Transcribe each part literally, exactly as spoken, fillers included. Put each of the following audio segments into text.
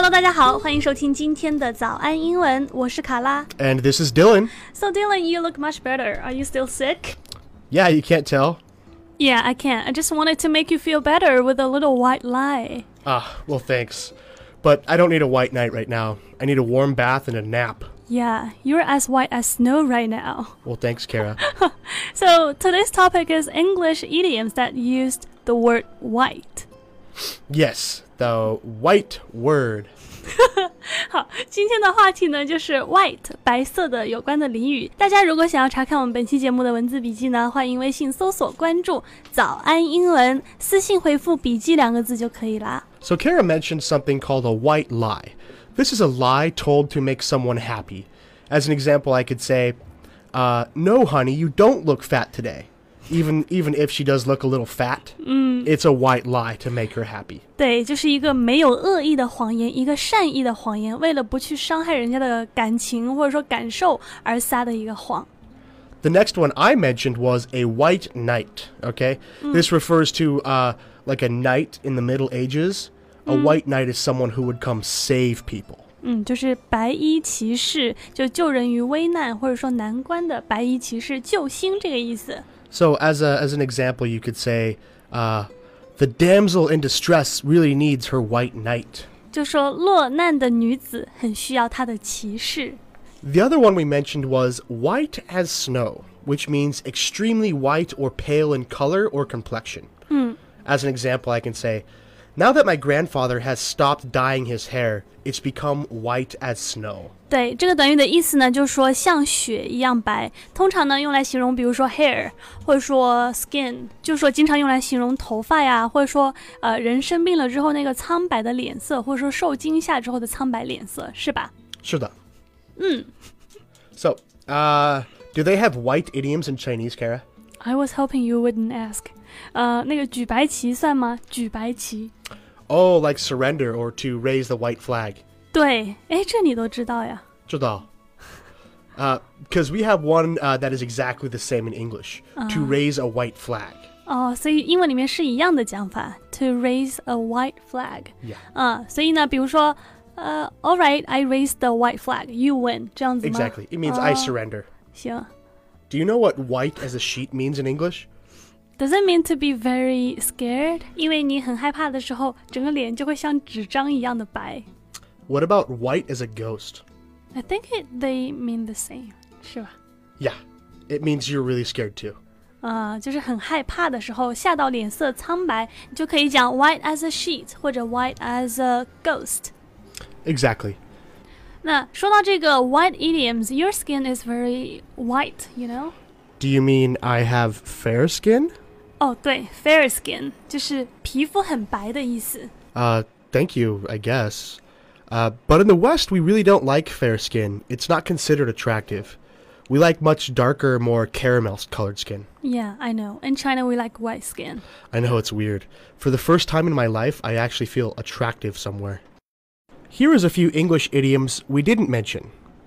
Hello， 大家好，欢迎收听今天的早安英文，我是卡拉。 And this is Dylan. So Dylan, you look much better. Are you still sick? Yeah, you can't tell. Yeah, I can't. I just wanted to make you feel better with a little white lie. Ah, well, thanks. But I don't need a white night right now. I need a warm bath and a nap. Yeah, you're as white as snow right now. Well, thanks, Kara. So today's topic is English idioms that used the word white. Yes, the white word. 好，今天的话题呢就是 white 白色的有关的俚语。大家如果想要查看我们本期节目的文字笔记呢，欢迎微信搜索关注早安英文，私信回复笔记两个字就可以啦。 So Kara mentioned something called a white lie. This is a lie told to make someone happy. As an example, I could say, uh, no, honey, you don't look fat today. Even even if she does look a little fat, mm. it's a white lie to make her happy. 对，就是一个没有恶意的谎言，一个善意的谎言，为了不去伤害人家的感情或者说感受而撒的一个谎。 The next one I mentioned was a white knight, okay? Mm. This refers to uh, like a knight in the Middle Ages. A mm. white knight is someone who would come save people. 嗯，就是白衣骑士，就救人于危难或者说难关的白衣骑士，救星这个意思。 So as a as an example, you could say, uh, the damsel in distress really needs her white knight. 就说落难的女子很需要她的骑士。 The other one we mentioned was white as snow, which means extremely white or pale in color or complexion. 嗯 As an example, I can say, now that my grandfather has stopped dyeing his hair, it's become white as snow. 对，这个短语的意思呢，就是说像雪一样白，通常呢用来形容，比如说 hair 或者说 skin， 就是说经常用来形容头发呀，或者说呃人生病了之后那个苍白的脸色，或者说受惊吓之后的苍白脸色，是吧？ 是的。 嗯。 So, uh, do they have white idioms in Chinese, Kara? I was hoping you wouldn't ask. 呃，那个举白旗算吗？举白旗。 Oh, like surrender or to raise the white flag. 对，诶，这你都知道呀。 知道。Uh, because we have one uh, that is exactly the same in English, uh. to raise a white flag. 哦，所以英文里面是一样的讲法 to raise a white flag. Yeah. 嗯，所以呢，比如说，呃 all right, I raised the white flag. You win. 这样子吗？ Exactly. It means、uh, I surrender. 行。 Do you know what white as a sheet means in English? Does it mean to be very scared? 因为你很害怕的时候，整个脸就会像纸张一样的白。 What about white as a ghost? I think it, they mean the same. 是吧？ Yeah. It means you're really scared too. 啊、uh, 就是很害怕的时候，吓到脸色苍白，你就可以讲 white as a sheet 或者 white as a ghost. Exactly. 那说到这个 white idioms, your skin is very white, you know? Do you mean I have fair skin? 哦，对 fair skin 就是皮肤很白的意思。 Uh, thank you, I guess. Uh, but in the West, we really don't like fair skin. It's not considered attractive. We like much darker, more caramel-colored skin. Yeah, I know. In China, we like white skin. I know it's weird. For the first time in my life, I actually feel attractive somewhere. Here is a few English idioms we didn't mention.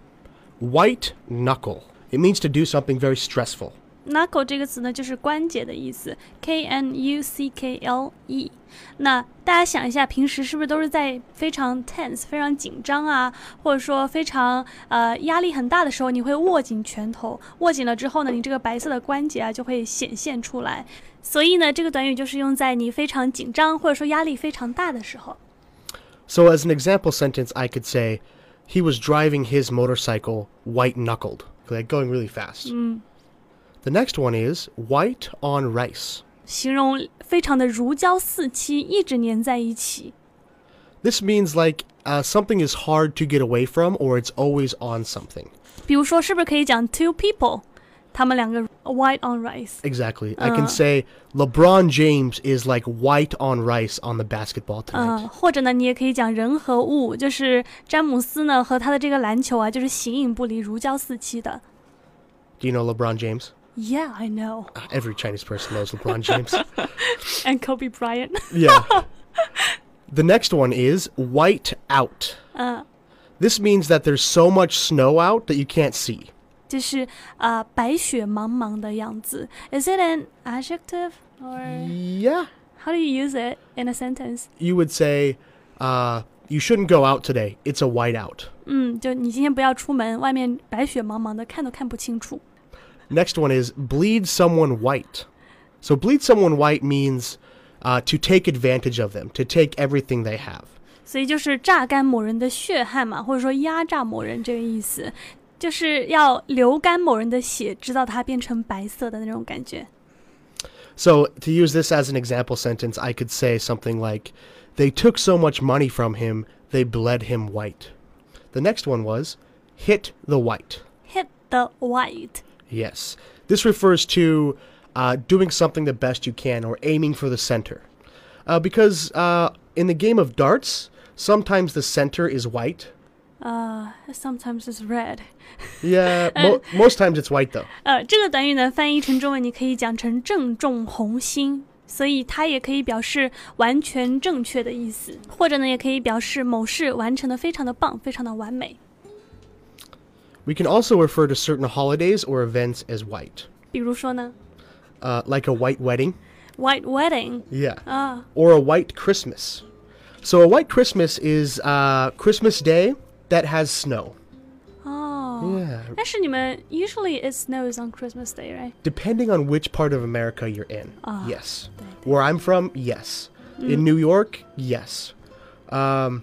White knuckle. It means to do something very stressful. Knuckle 这个词呢，就是关节的意思 ，K N U C K L E。那大家想一下，平时是不是都是在非常 tense、非常紧张啊，或者说非常呃压力很大的时候，你会握紧拳头，握紧了之后呢，你这个白色的关节啊就会显现出来。所以呢，这个短语就是用在你非常紧张或者说压力非常大的时候。 So as an example sentence, I could say, he was driving his motorcycle white-knuckled, like going really fast. 嗯。 The next one is white on rice. 形容非常的如胶似漆，一直粘在一起。 This means like uh, something is hard to get away from or it's always on something. 比如说，是不是可以讲 two people， 他们两个 white on rice? Exactly. I can say LeBron James is like white on rice on the basketball tonight. 嗯，或者呢，你也可以讲人和物，就是詹姆斯呢和他的这个篮球啊，就是形影不离，如胶似漆的。 Do you know LeBron James? Yeah, I know. Uh, every Chinese person knows LeBron James. And Kobe Bryant. Yeah. The next one is white out. Uh, this means that there's so much snow out that you can't see. 就是呃白雪茫茫的样子。Is it an adjective or? Yeah. How do you use it in a sentence? You would say, uh, you shouldn't go out today. It's a whiteout. 嗯，就你今天不要出门，外面白雪茫茫的，看都看不清楚。 Next one is bleed someone white. So bleed someone white means uh, to take advantage of them, to take everything they have. 所以就是榨干某人的血汗嘛，或者说压榨某人这个意思，就是要流干某人的血，直到他变成白色的那种感觉。 So to use this as an example sentence, I could say something like, they took so much money from him, they bled him white. The next one was hit the white. Hit the white. Yes. This refers to uh, doing something the best you can or aiming for the center. Uh, because uh, in the game of darts, sometimes the center is white. Uh, sometimes it's red. Yeah, mo- most times it's white though. 呃，这个短语呢，翻译成中文你可以讲成正中红心，所以它也可以表示完全正确的意思，或者呢，也可以表示某事完成的非常的棒，非常的完美。 We can also refer to certain holidays or events as white. 比如说呢 Uh, like a white wedding. ，white wedding Yeah. 啊， Or a white Christmas. So a white Christmas is uh, Christmas Day that has snow. 哦， Yeah. 但是你们 usually it snows on Christmas Day, right? Depending on which part of America you're in. Ah, Yes. 对对 Where I'm from, yes. In New York, yes. Um,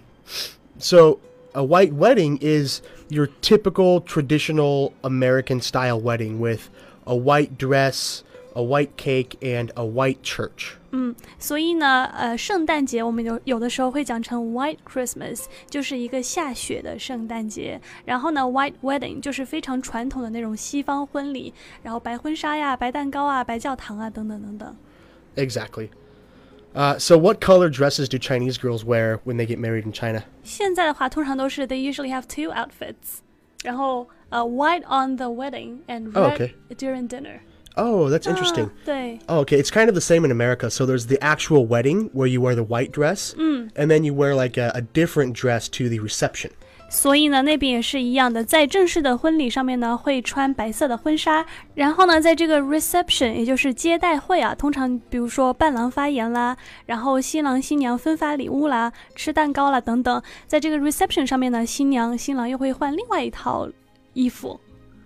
so a white wedding is your typical traditional American style wedding with a white dress, a white cake, and a white church. 嗯，所以呢，呃，圣诞节我们有有的时候会讲成 White Christmas，就是一个下雪的圣诞节。然后呢 ，White Wedding 就是非常传统的那种西方婚礼，然后白婚纱呀、白蛋糕啊、白教堂啊等等等等。 Exactly. Uh, so what color dresses do Chinese girls wear when they get married in China? 现在的话，通常都是 they usually have two outfits，然后呃、uh, white on the wedding and red Oh, okay. during dinner。 Oh, that's interesting. 啊，对。 Oh, okay. It's kind of the same in America. So there's the actual wedding where you wear the white dress, and then you wear like a, a different dress to the reception. 所以呢，那边也是一样的，在正式的婚礼上面呢，会穿白色的婚纱，然后呢，在这个 reception， 也就是接待会啊，通常比如说伴郎发言啦，然后新郎新娘分发礼物啦，吃蛋糕啦等等，在这个 reception 上面呢，新娘新郎又会换另外一套衣服。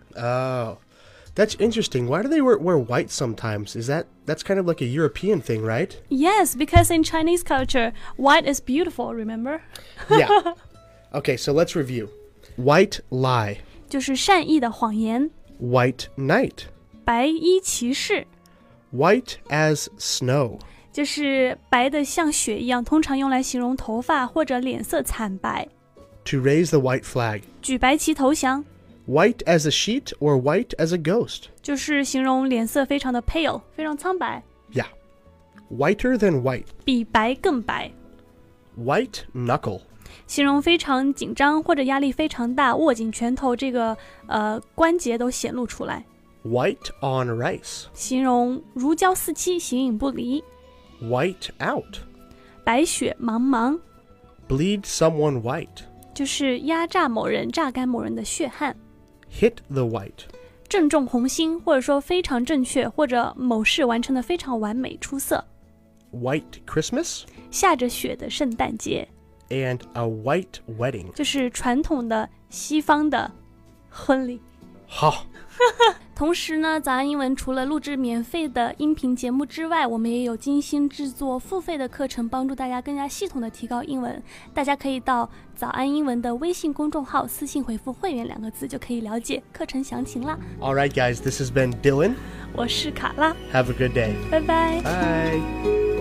Oh, that's interesting. Why do they wear, wear white sometimes? Is that that's kind of like a European thing, right? Yes, because in Chinese culture, white is beautiful, remember? Yeah. Okay, so let's review. White lie. 就是善意的谎言， White knight. 白衣骑士， White as snow. 就是白的像雪一样，通常用来形容头发或者脸色惨白。 To raise the white flag. 举白旗投降， White as a sheet or white as a ghost. 就是形容脸色非常的 pale， 非常苍白， Yeah. Whiter than white. 比白更白， White knuckle. 形容非常紧张或者压力非常大，握紧拳头，这个呃关节都显露出来， White on rice. 形容如胶似漆，形影不离， White out. 白雪茫茫， Bleed someone white. 就是压榨某人、榨干某人的血汗。 Hit the white. 正中红心，或者说非常正确，或者某事完成的非常完美出色。 White Christmas. 下着雪的圣诞节， And a white wedding. 就是传统的西方的婚礼。 好。 同时呢，早安英文除了录制免费的音频节目之外，我们也有精心制作付费的课程，帮助大家更加系统的提高英文。大家可以到早安英文的微信公众号私信回复会员两个字，就可以了解课程详情啦。 All right, guys, this has been Dylan. 我是卡拉， Have a good day. 拜拜。 Bye.